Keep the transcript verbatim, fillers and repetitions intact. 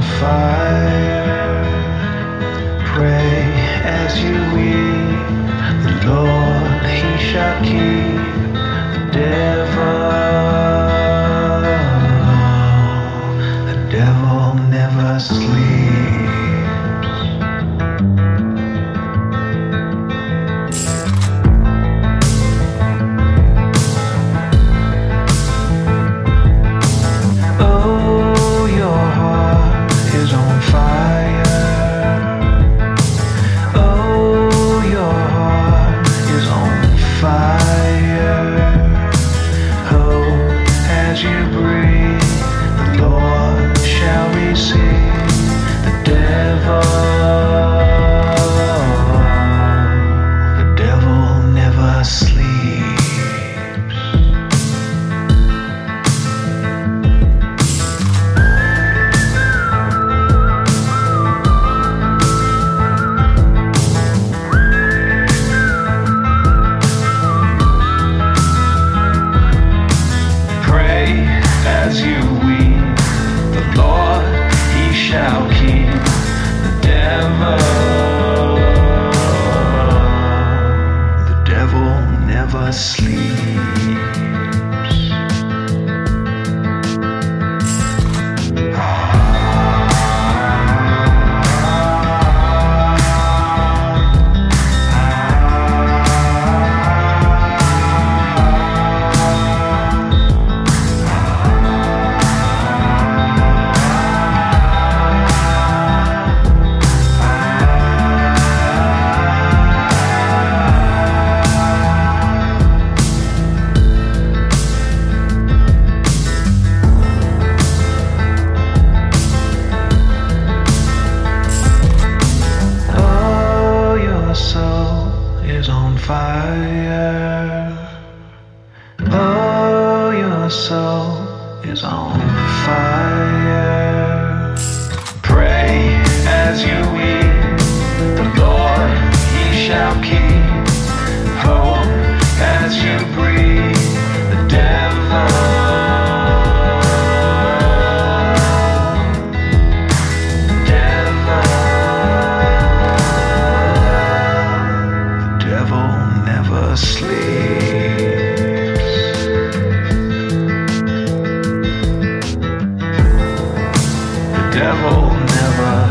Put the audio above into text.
fire. Pray as you eat, the Lord he shall keep the devil. The devil never sleeps. As you weep, the Lord he shall keep the devil. The devil never sleeps. On fire. Oh, your soul is on fire. Pray as you eat, the Lord he shall keep. Hope as you breathe, the devil. Never sleeps. The devil never